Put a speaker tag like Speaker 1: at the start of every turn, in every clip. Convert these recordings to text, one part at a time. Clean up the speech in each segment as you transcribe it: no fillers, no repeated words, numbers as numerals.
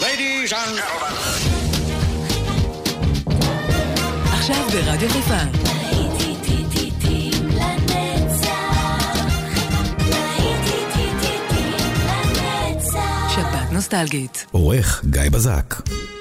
Speaker 1: Ladies and gentlemen.
Speaker 2: עכשיו ברדיו חיפה. שבת נוסטלגית.
Speaker 3: עורך גיא בזק.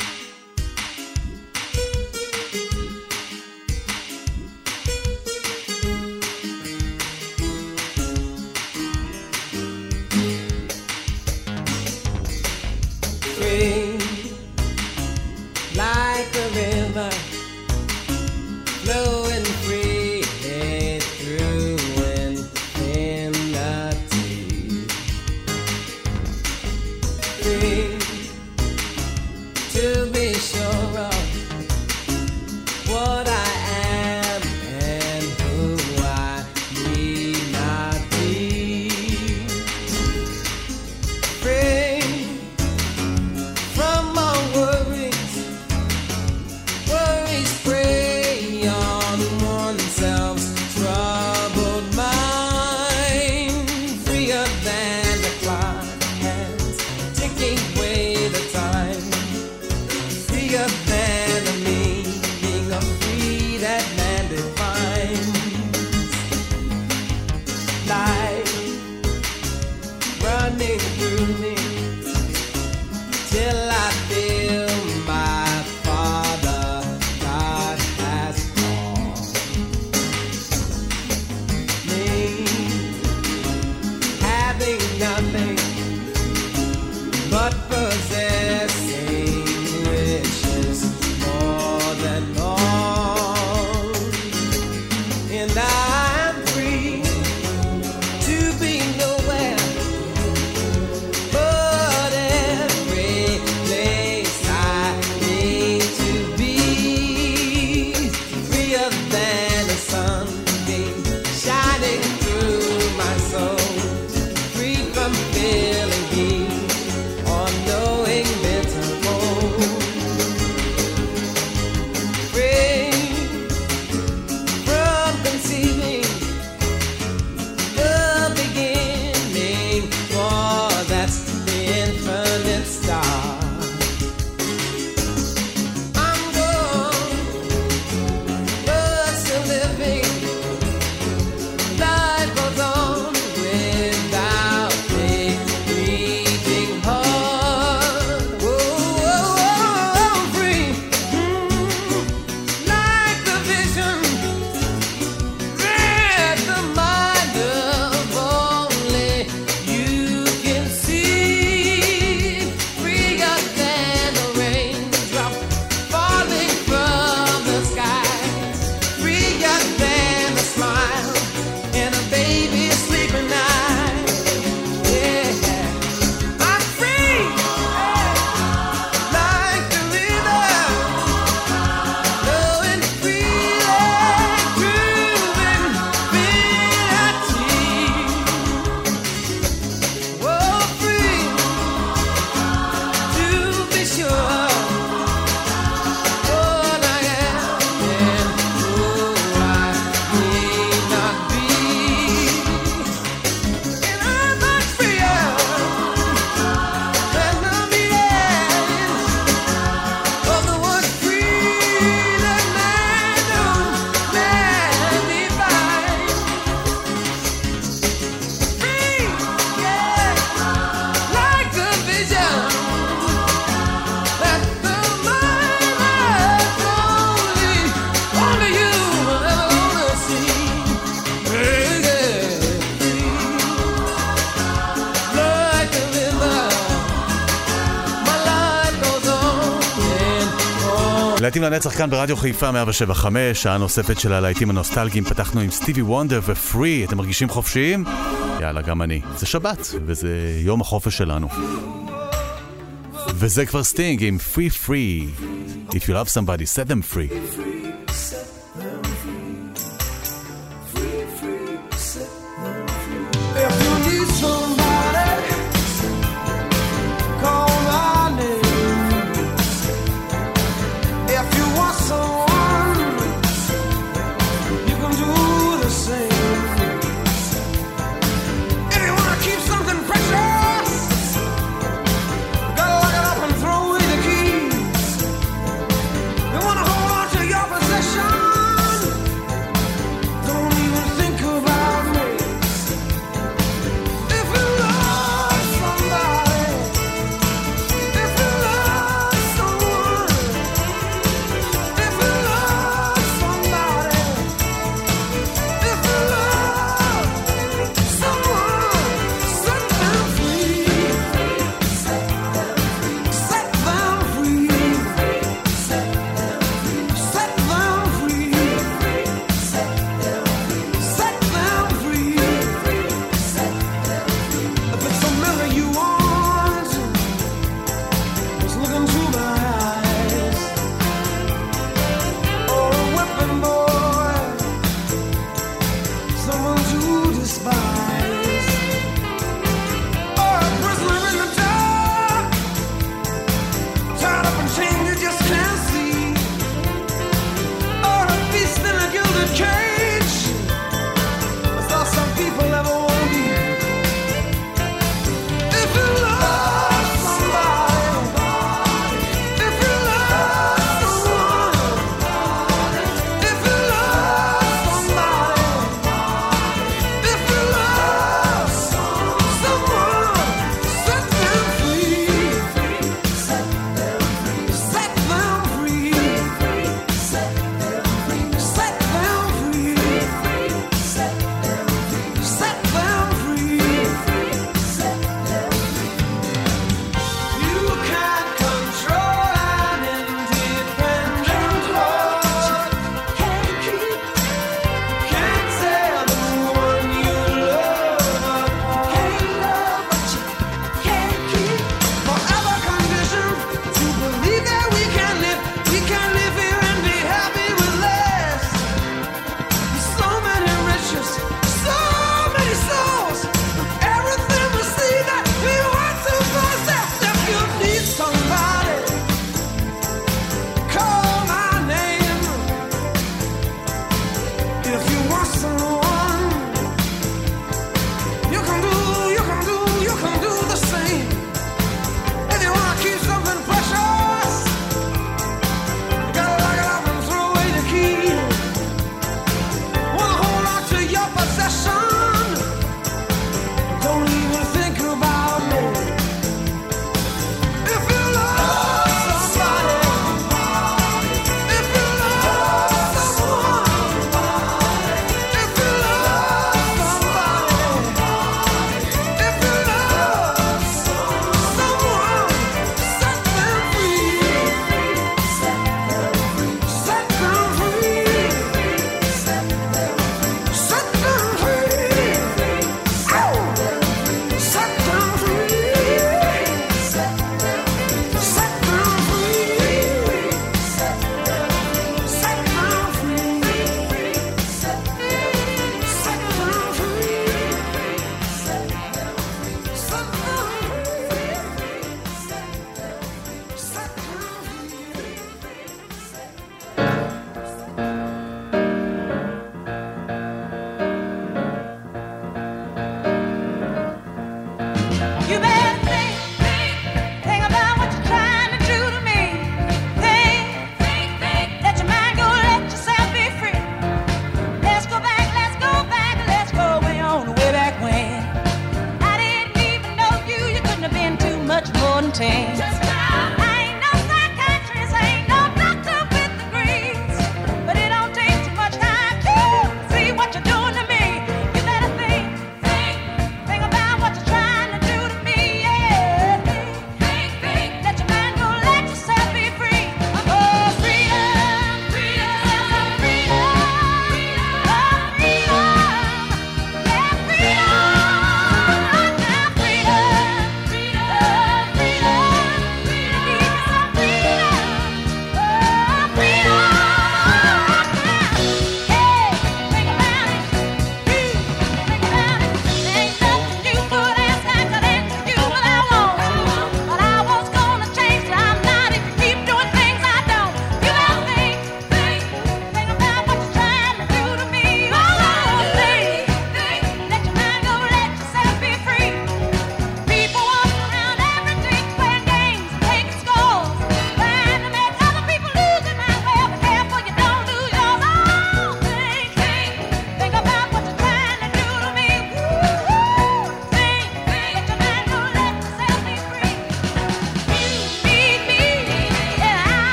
Speaker 4: להיטים לנצח כאן ברדיו חיפה 107.5, שעה נוספת של הלהיטים הנוסטלגיים. פתחנו עם סטיבי וונדר ופרי. אתם מרגישים חופשיים? יאללה, גם אני. זה שבת, וזה יום החופש שלנו. וזה כבר סטינג עם Free Free. If you love somebody, set them free.
Speaker 5: Throw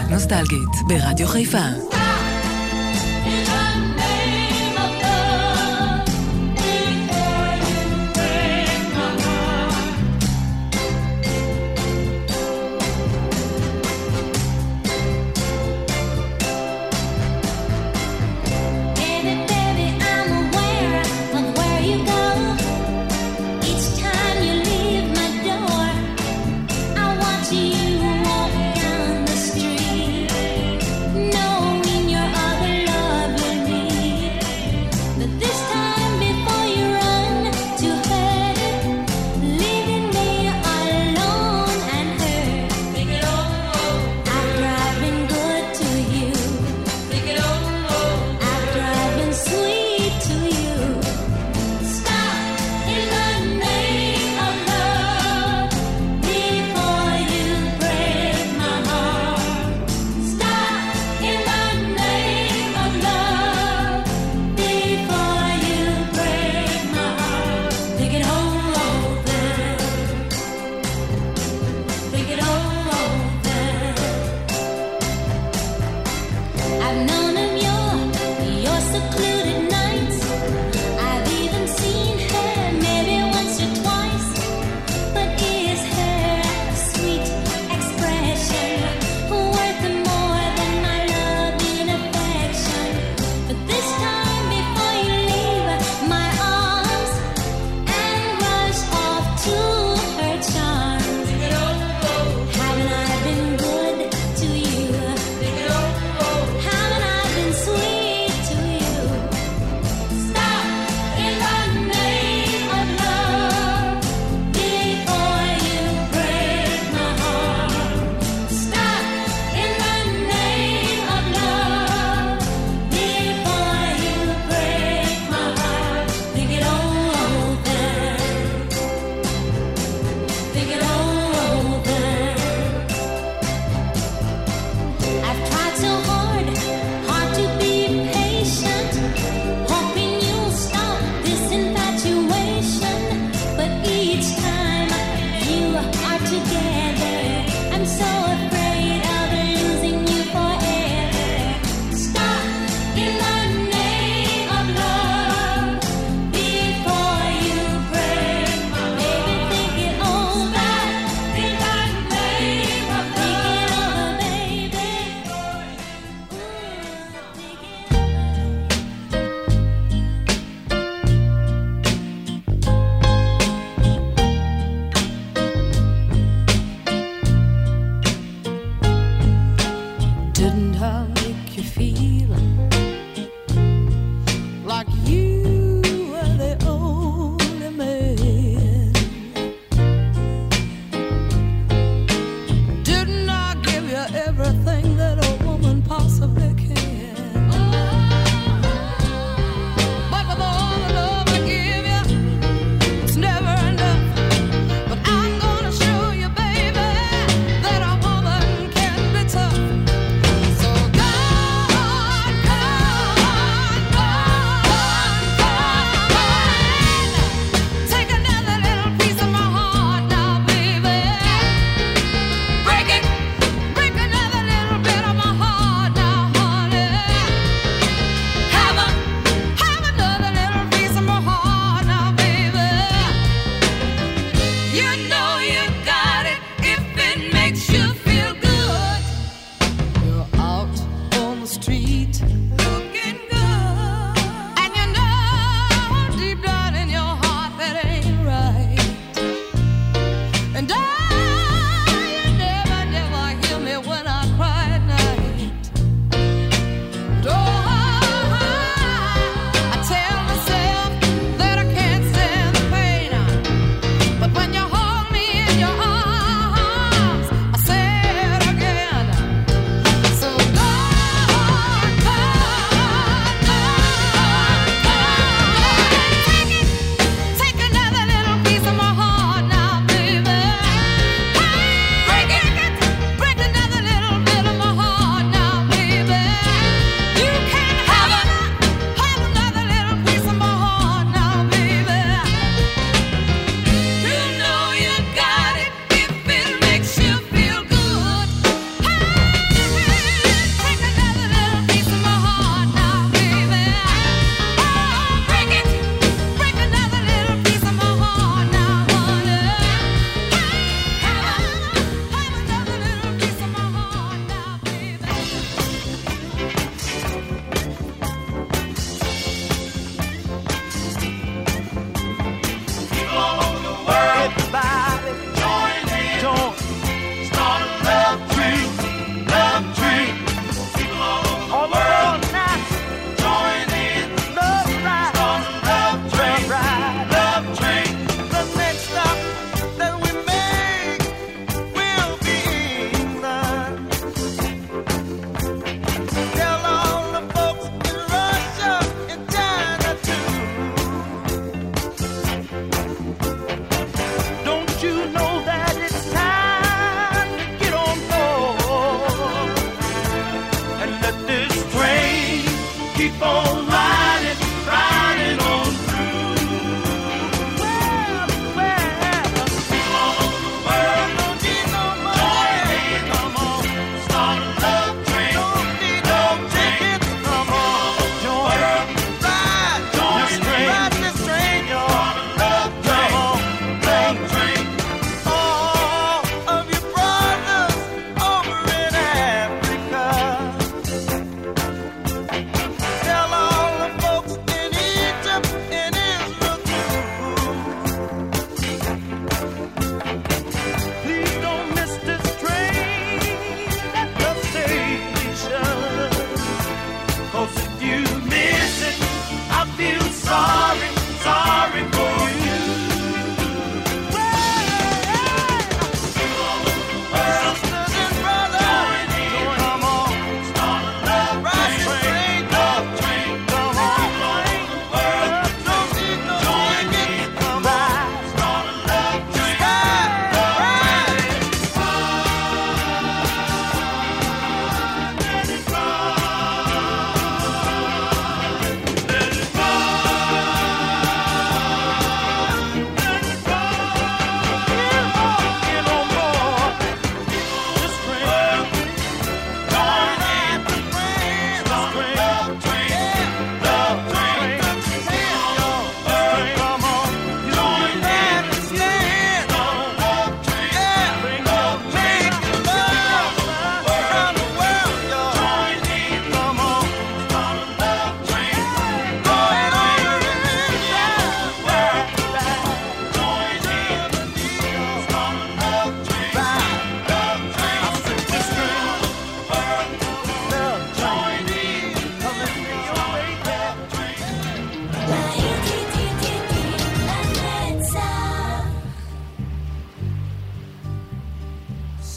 Speaker 2: נוסטלגית ברדיו חיפה.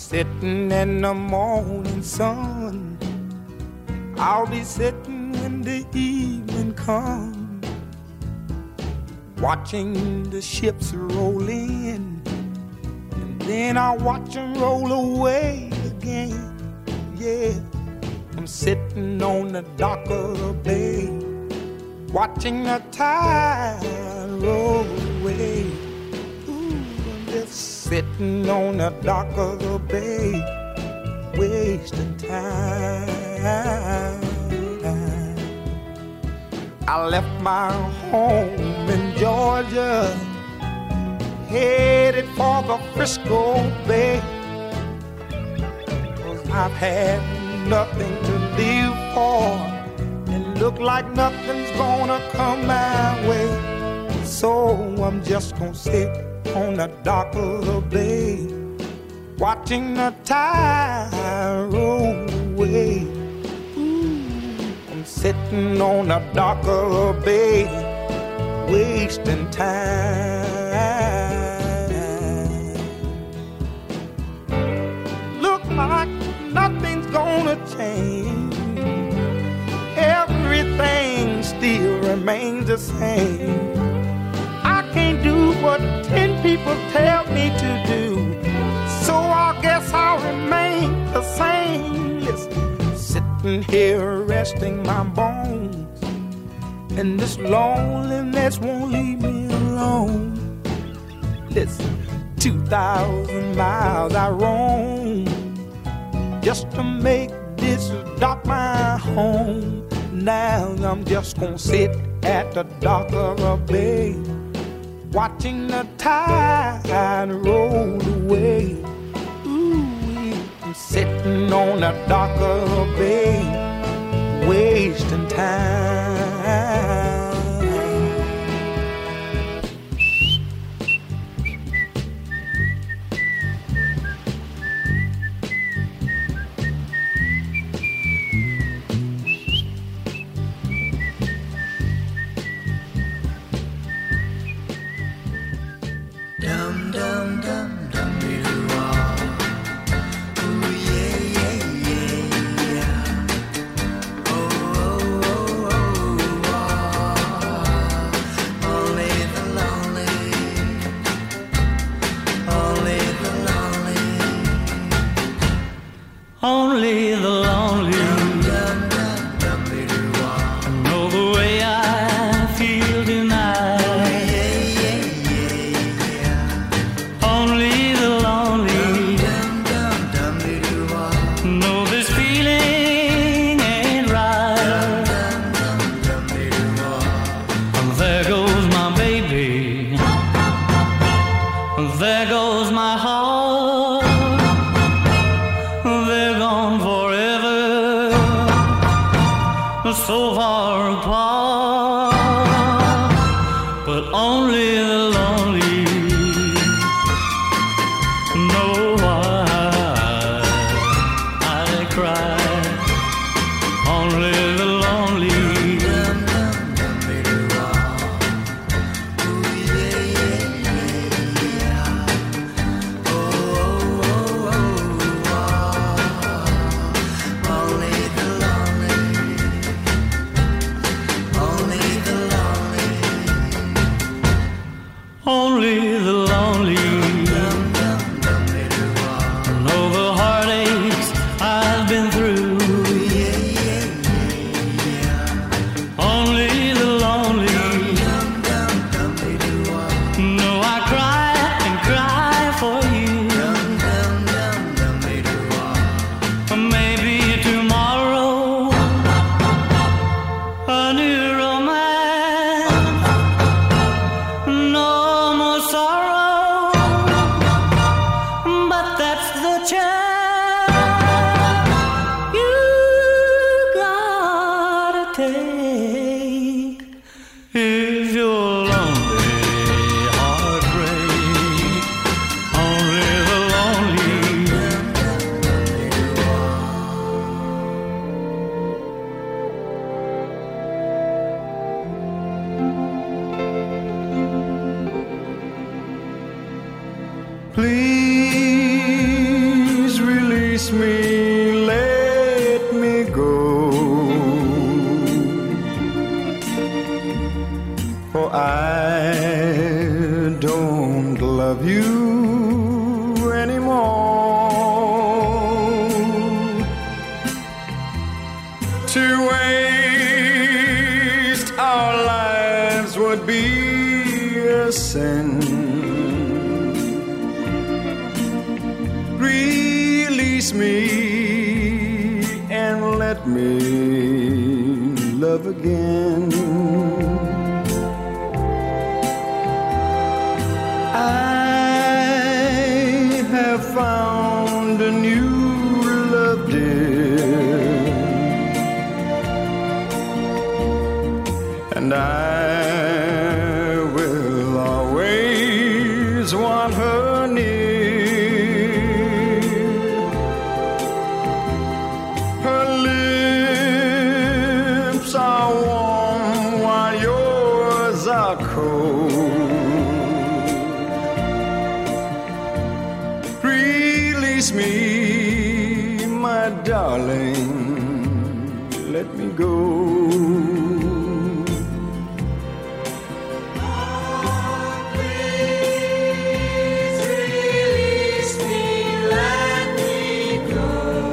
Speaker 1: sitting in the morning sun. I'll be sitting when the evening comes, watching the ships roll in, and then I'll watch them roll away again. Yeah, I'm sitting on the dock of the bay, watching the tide roll away. Ooh, I'm just sitting on the dock of the bay, wasting time. I left my home in Georgia, headed for the Frisco Bay, 'cause I've had nothing to live for, and look like nothing's gonna come my way. So I'm just gonna sit on the dock of the bay, watching the tide roll away. Ooh, I'm sitting on the dock of the bay, wasting time. Look like nothing's gonna change, everything still remains the same. I can't do what 10 people tell me to do, so I guess I'll remain the same. Listen, sitting here resting my bones, and this loneliness won't leave me alone. Listen, 2,000 miles I roam just to make this dock my home. Now I'm just gonna sit at the dock of a bay, watching the tide roll away. Ooh, I'm sitting on the dock of a bay, wasting time.
Speaker 3: Only the lonely know the way I feel tonight. Only the lonely know this feeling ain't right. There goes my baby, there goes my heart. They're gone forever, so far apart. But only the lonely know why I cry. Only the lonely only the lonely
Speaker 1: Release me, let me go, for I don't love you anymore. To waste our lives would be a sin. Release me and let me love again. Found a new love, dear, and I will always want her near. Her lips are warm while yours are cold. Release me, my darling, let me go.
Speaker 5: Oh, please release me, let me go.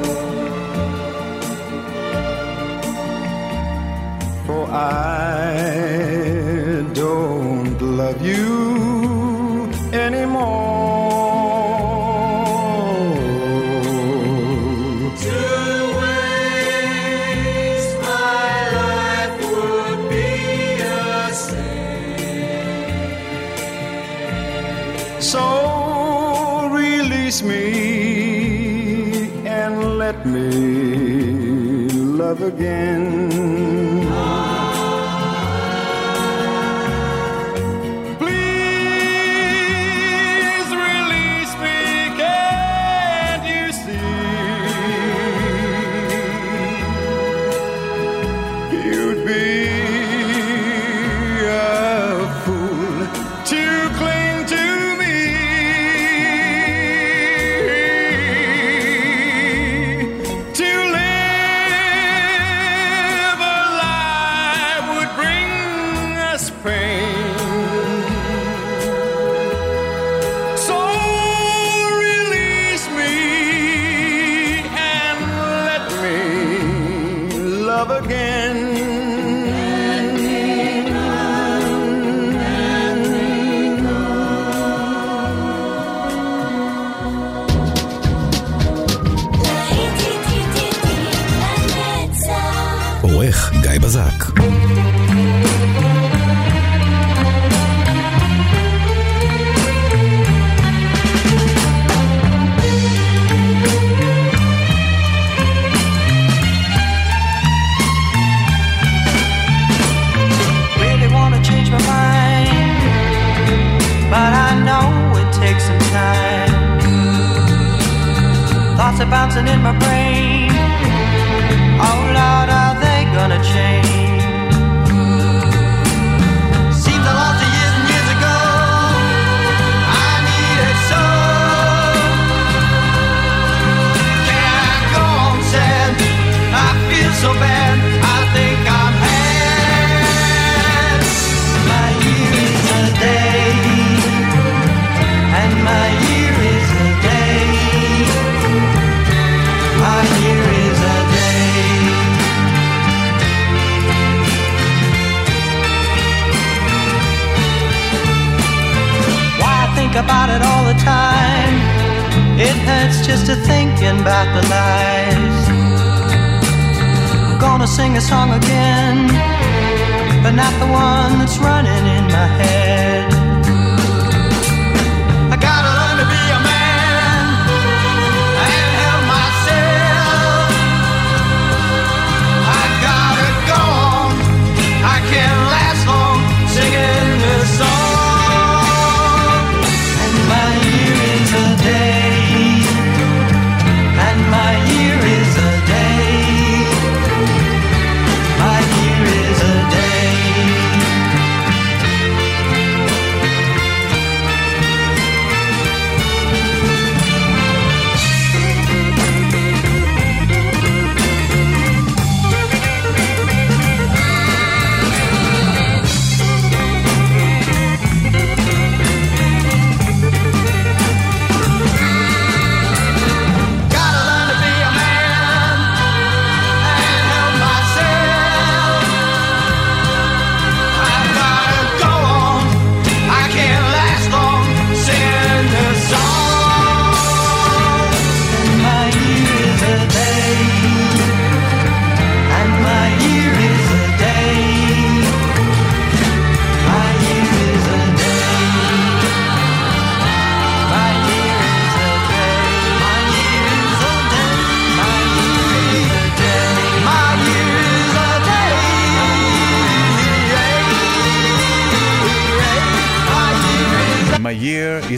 Speaker 1: For I don't love you anymore. So release me and let me love again. Please release me, can't you see? You'd be a fool to cling to me. To live alive would bring us pain. So release me and let me love again.
Speaker 6: עורך גיא בזק.
Speaker 7: Really wanna change my mind, but I know it takes some time. Thoughts are bouncing in my brain. Oh Lord, are they gonna change? Seems a lot of years and years ago I needed so. Can't go on sad, I feel so bad, I think I'm had. My year is a day, and my year is a day. My year is a day. Why I think about it all the time, it hurts just to thinking about the lies. I'm gonna sing a song again, but not the one that's running in my head. I gotta learn to be a man and help myself. I gotta go on, I can't last long singing this song. And my year is a day, and my year is a day. My year is a day.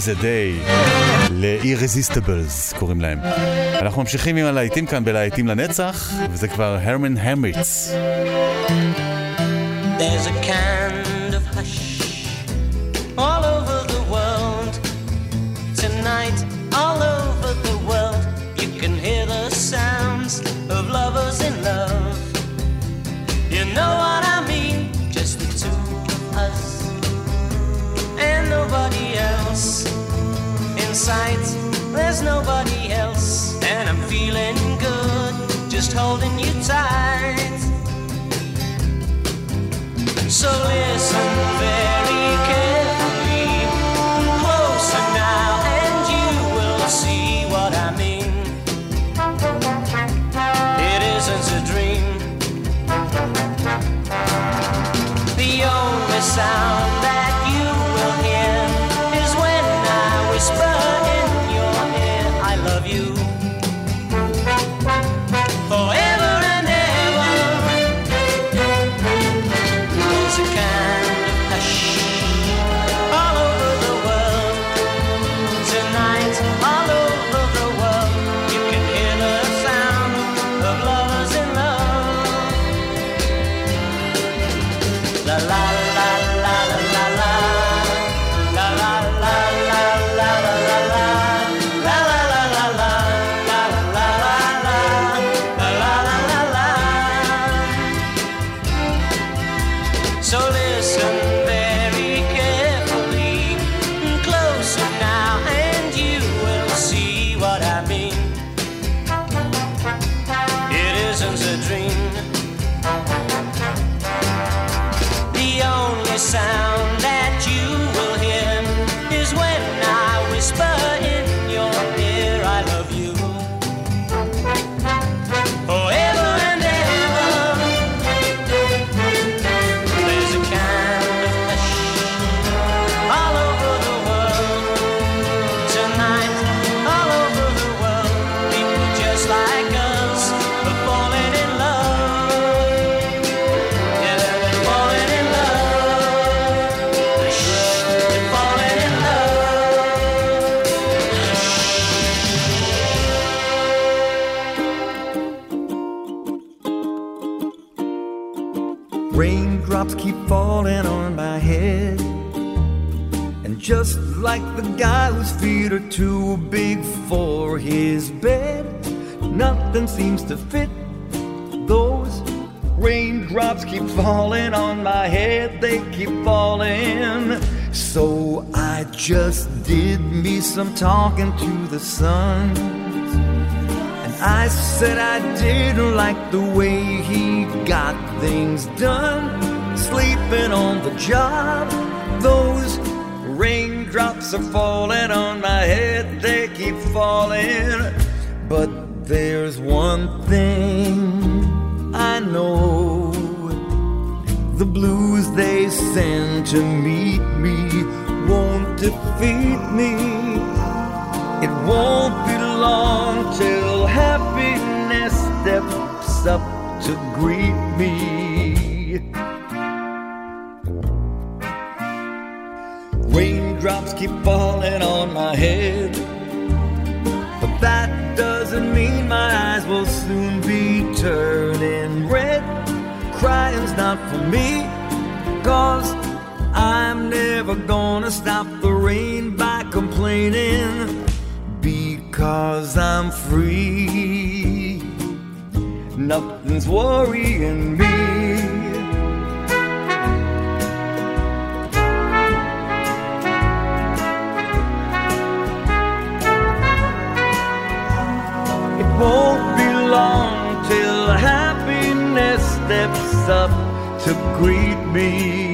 Speaker 4: a Day, ל-Irresistibles קוראים להם. אנחנו ממשיכים עם הלהיטים כאן בלהיטים לנצח, וזה כבר הרמן המריץ.
Speaker 7: There's a kind of hush all over the world tonight, all over the world. You can hear the sounds of lovers in love. You know what I mean? Just the two of us and nobody else. In sight, there's nobody else, and I'm feeling good, just holding you tight. So listen very carefully, closer now, and you will see what I mean. It isn't a dream. The only sound that you will hear is when I whisper in your ear, I love you. Forever and ever. There's a kind of hush all over the world tonight, all over the world. You can hear the sound of lovers in love. La la la la la la la la la la la la la la la. So listen very carefully, closer now, and you will see what I mean. It isn't a dream. The only sound that you will hear is when I whisper in your ear, I love you. Forever and ever. There's a kind of hush all over the world tonight, all over the world. People just like us are falling in love. Yeah, they're falling in love. They're falling in love.
Speaker 8: Raindrops keep falling on my head, and just like the guy whose feet are too big for his bed, nothing seems to fit. Those raindrops keep falling on my head, they keep falling. So I just did me some talking to the sun, and I said I didn't like the way he got things done, sleeping on the job. Those raindrops are falling on my head, they keep falling. But there's one thing I know, the blues they send to meet me won't defeat me. It won't be long till happiness steps up to greet me. Raindrops keep falling on my head, but that doesn't mean my eyes will soon be turning red. Crying's not for me, 'cause I'm never gonna stop the rain by complaining, because I'm free. Nothing's worrying me. It won't be long till happiness steps up to greet me.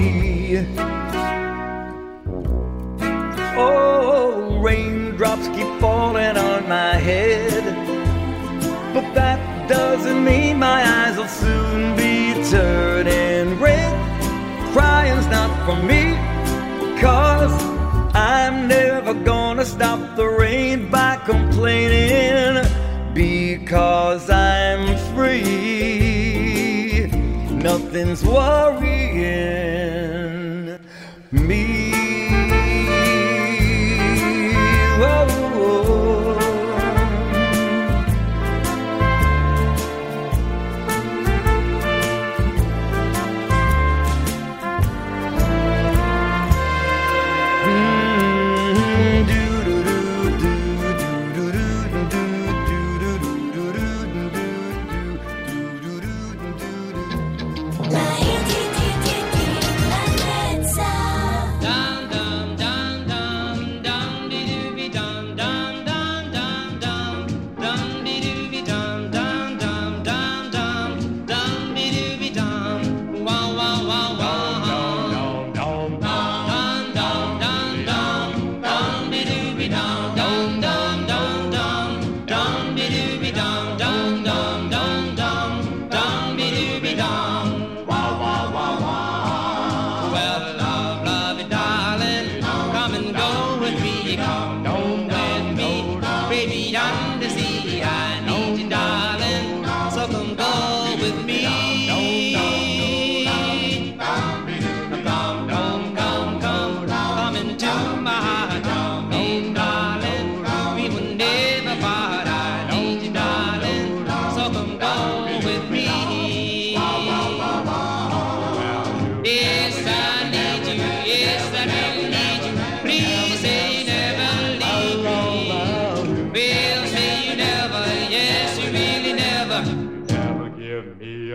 Speaker 8: Oh, raindrops keep falling on my head, but that doesn't mean my eyes will soon be turning red. Crying's not for me, 'cause I'm never gonna stop the rain by complaining, because I'm free. Nothing's worrying me.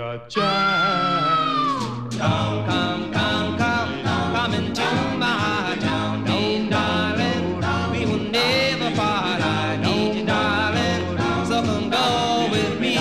Speaker 9: a chance.
Speaker 7: Come, come, come, come, come into my town, darling. We will never part. I need you, darling. So come go with me.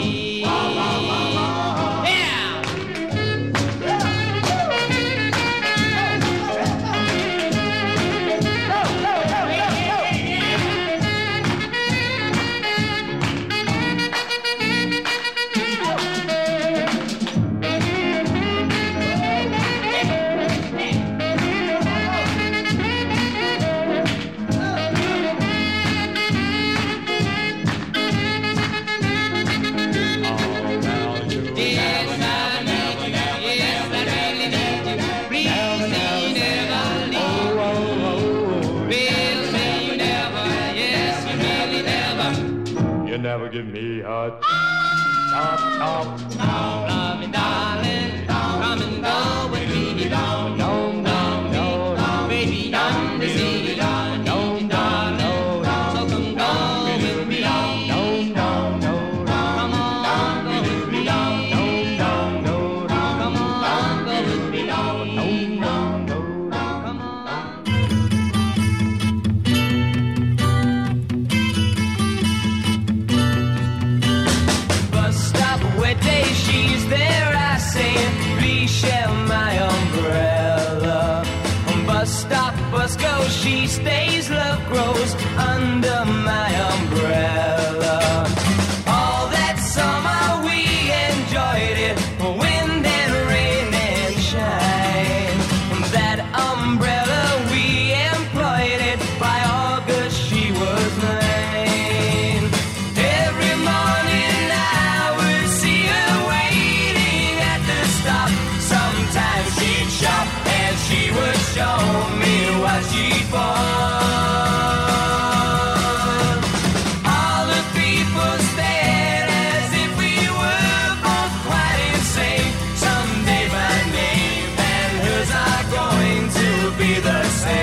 Speaker 9: Never give me a top.
Speaker 7: Love me, darling. Come and go with me. Don't, baby, I'm busy. Darling. So come go with me. Come on, go with me. Come on, go with me. Come on. Day she's there, I say, please share my umbrella. Bus stop, bus go, she stays, love grows under my umbrella. All that summer we enjoyed it, wind and rain and shine. That umbrella we employed it, by August she was mine. Every morning I would see her waiting at the stop. Sometimes she'd shop and she would show me what she'd bought. All the people stared as if we were both quite insane. Someday my name and hers are going to be the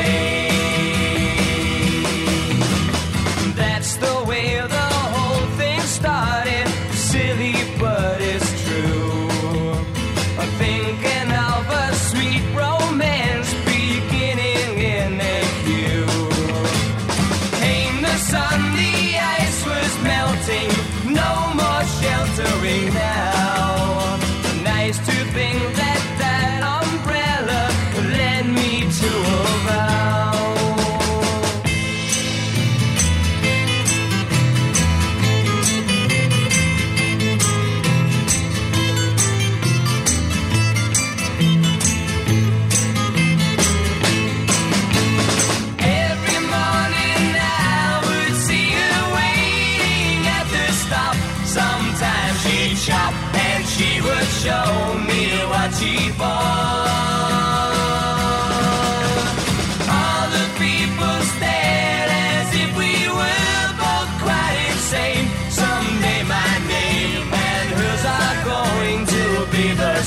Speaker 7: same. That's the way the whole thing started. Silly, but it's true. Thinking of a sweet romance beginning in a queue. Came the sun, the ice was melting, no more sheltering now. Nice to think that that umbrella led me to a vow. Every morning I would see her waiting at the stop. Sometimes she'd shop and she would show me what she bought. All the people stared as if we were both quite insane. Someday my name and hers are going to be the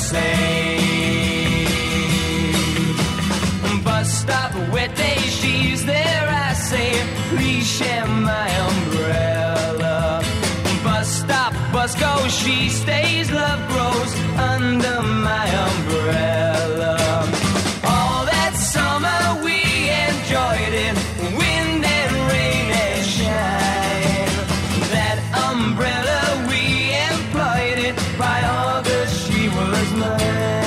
Speaker 7: same. Bus stop, wet day, she's there, I say, please share my umbrella. Bus stop, bus go, she stays, love grows under my umbrella. All that summer we enjoyed it, wind and rain and shine. That umbrella we employed it, by August she was mine.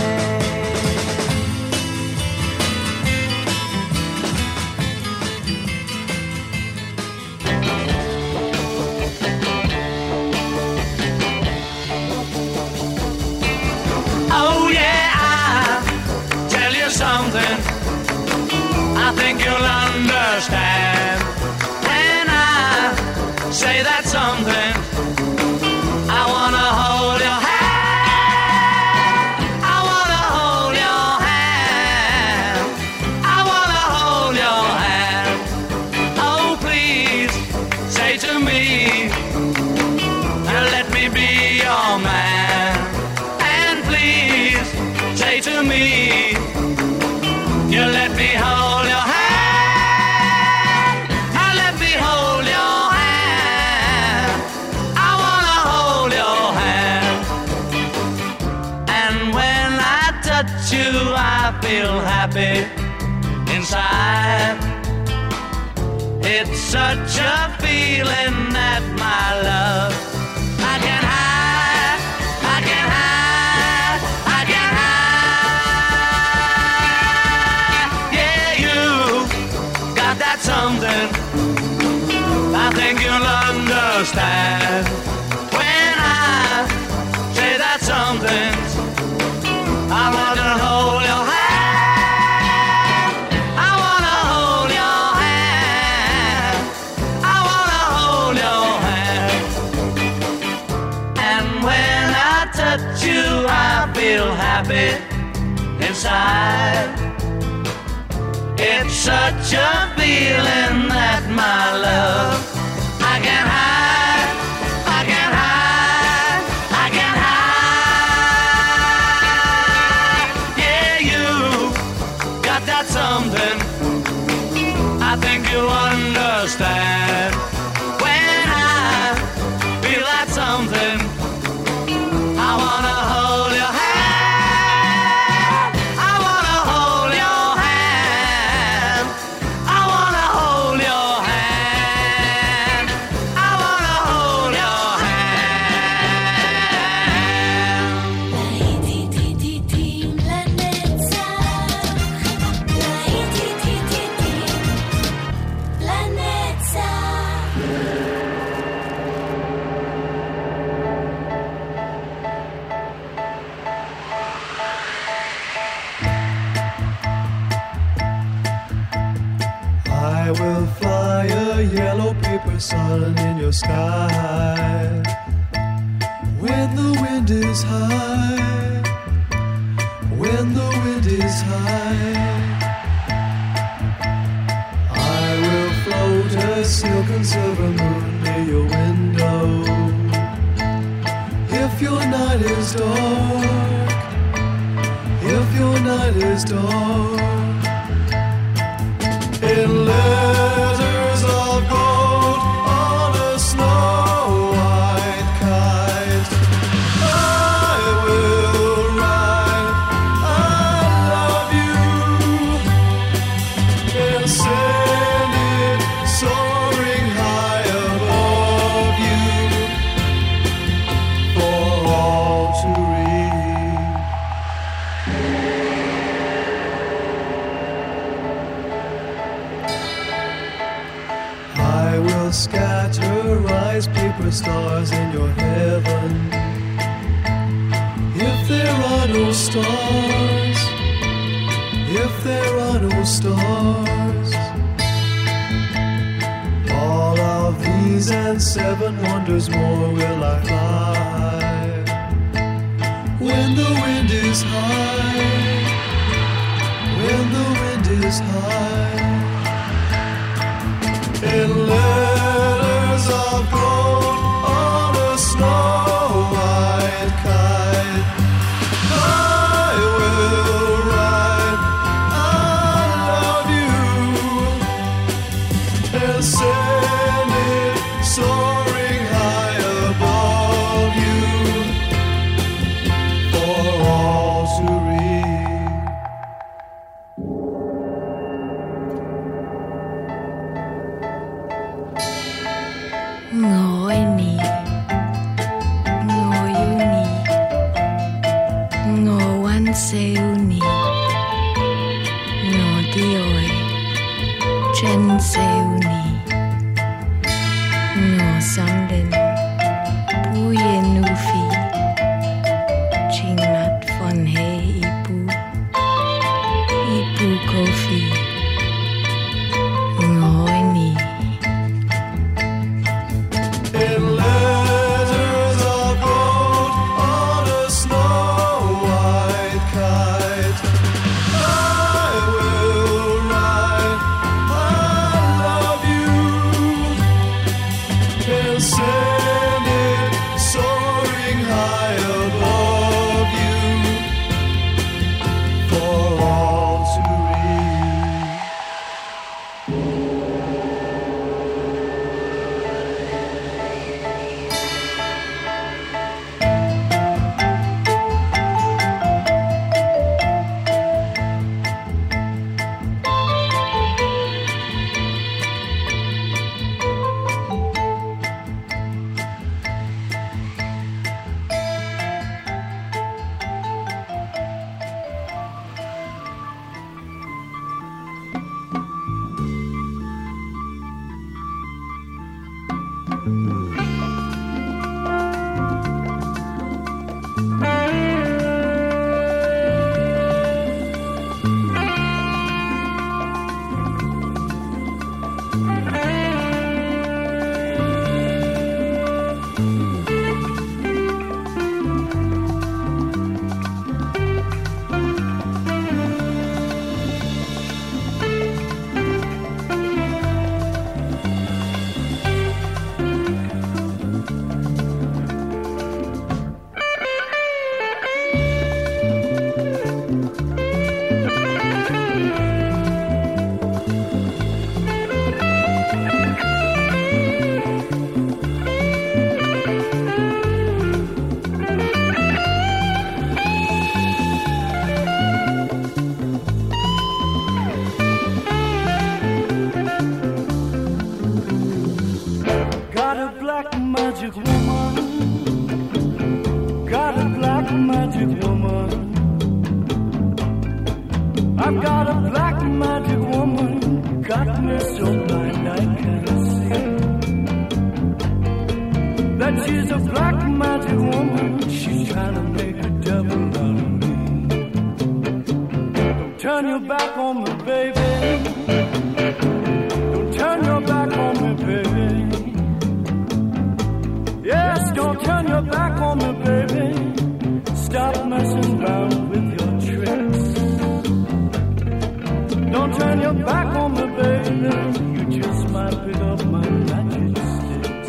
Speaker 3: Oh yeah, I'll tell you something I think you'll understand. When I say that something, I wanna hold your hand. I wanna hold your hand. I wanna hold your hand. Oh please, say to me, let me be your man. And please, say to me, you let me hold your hand. I let me hold your hand. I wanna hold your hand. feel happy inside. It's such a feeling that my love I can hide, I can hide, I can hide. Yeah, you got that something I think you'll understand when I say that something. I want to hold your hand. I want to hold your hand. I want to hold your hand. And when I touch you, I feel happy inside. It's such a feeling that my love I can hide, I can hide, I can hide. Yeah, you got that something I think you understand. When I feel that something, I wanna hold your hand. I wanna hold your hand. I wanna hold your hand. I wanna hold your
Speaker 8: I will fly a yellow paper sun in your sky. When the wind is high, when the wind is high, I will float a silken silver moon near your window. If your night is dark, if your night is dark, in letters of gold on a snow-white kite, I will write I love you and send it soaring high above you for all to read. I will scatter rice paper stars in your heaven. If there are no stars, if there are no stars, all of these and 7 wonders more will I fly. When the wind is high, when the wind is high, in letters of gold on a snow-white kite, I will write I love you and send it soaring high above you for all to read.
Speaker 10: Ngồi nì, ngồi yêu nì, ngồi quan siêu nì, ngồi đi ơi, chân siêu nì, ngồi sang đến, bùi nu phi, chinh mặt von he ipu kofi, ngồi nì.
Speaker 8: In letters of gold on a snow-white kite, I will write I love you and send it soaring high above you for all to read.
Speaker 11: woman, got a black magic woman. I've got a black magic woman, got me so blind I can't see. That she's a black magic woman, she's trying to make a devil out of me. Don't turn your back on me, baby. Don't turn your back on me, baby. Yes, don't turn your back on me, baby. Stop messing around with your tricks. Don't turn your back on me, baby. You just might pick up my magic sticks.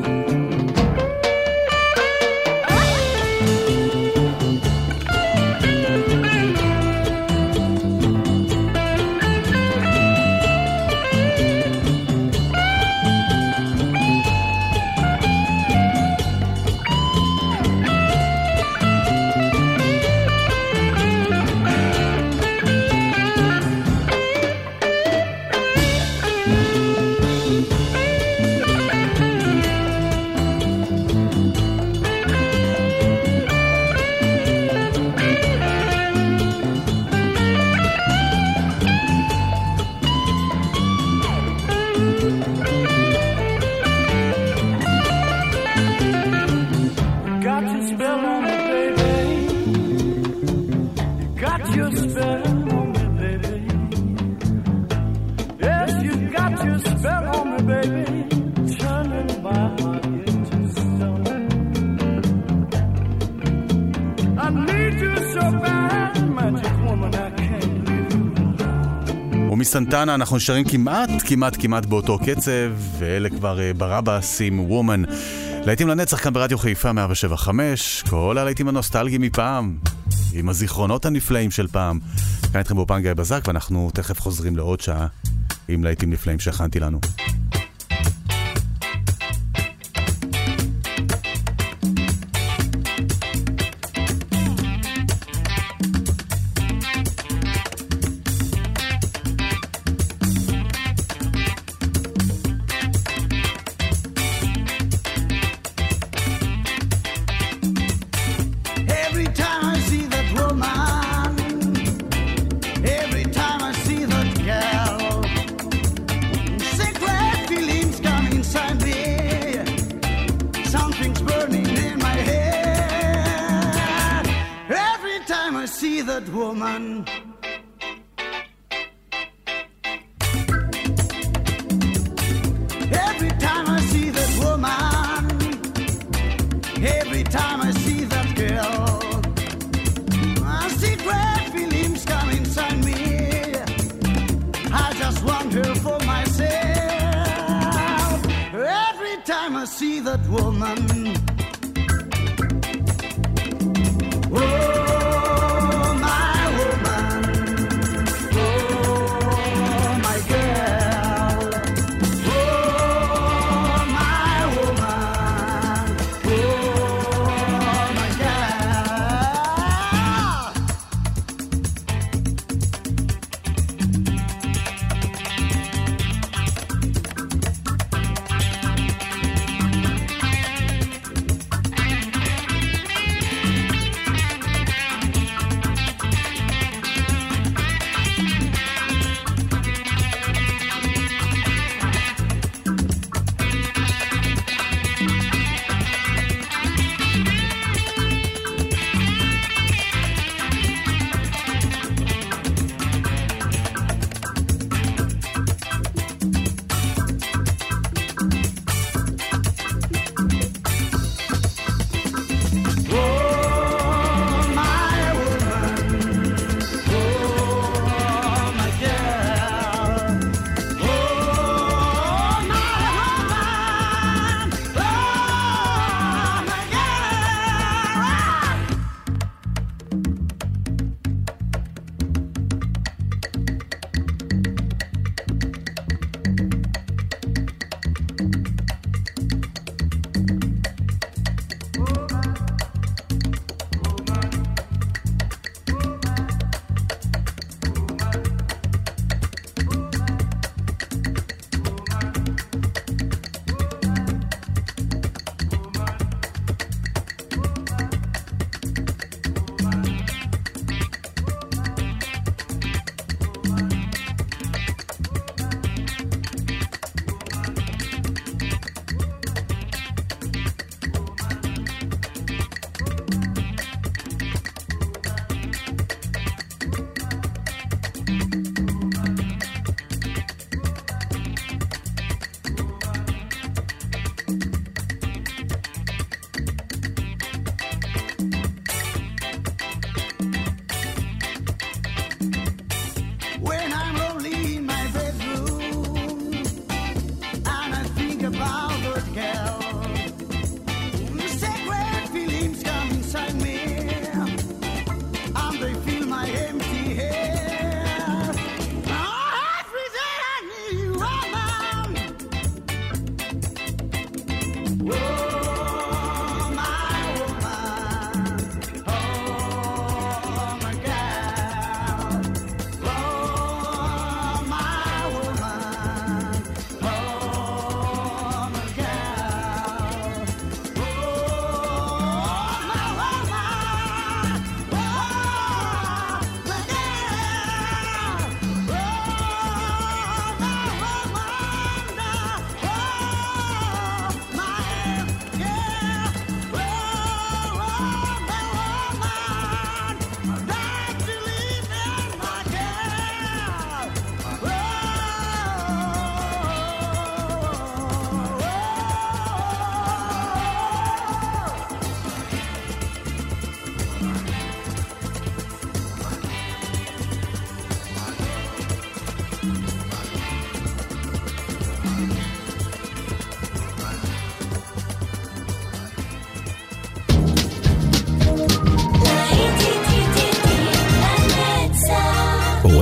Speaker 4: ומסנטנה אנחנו נשארים כמעט באותו קצב, ואלה כבר ברבאס עם וומן. להיטים לנצח כאן ברדיו חיפה 107.5, כל הלהיטים הנוסטלגיים מפעם, עם הזיכרונות הנפלאים של פעם. כאן איתכם באופן גיא בזק, ואנחנו תכף חוזרים לעוד שעה עם להיטים נפלאים שהכנתי לנו.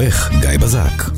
Speaker 6: העורך גיא בזק.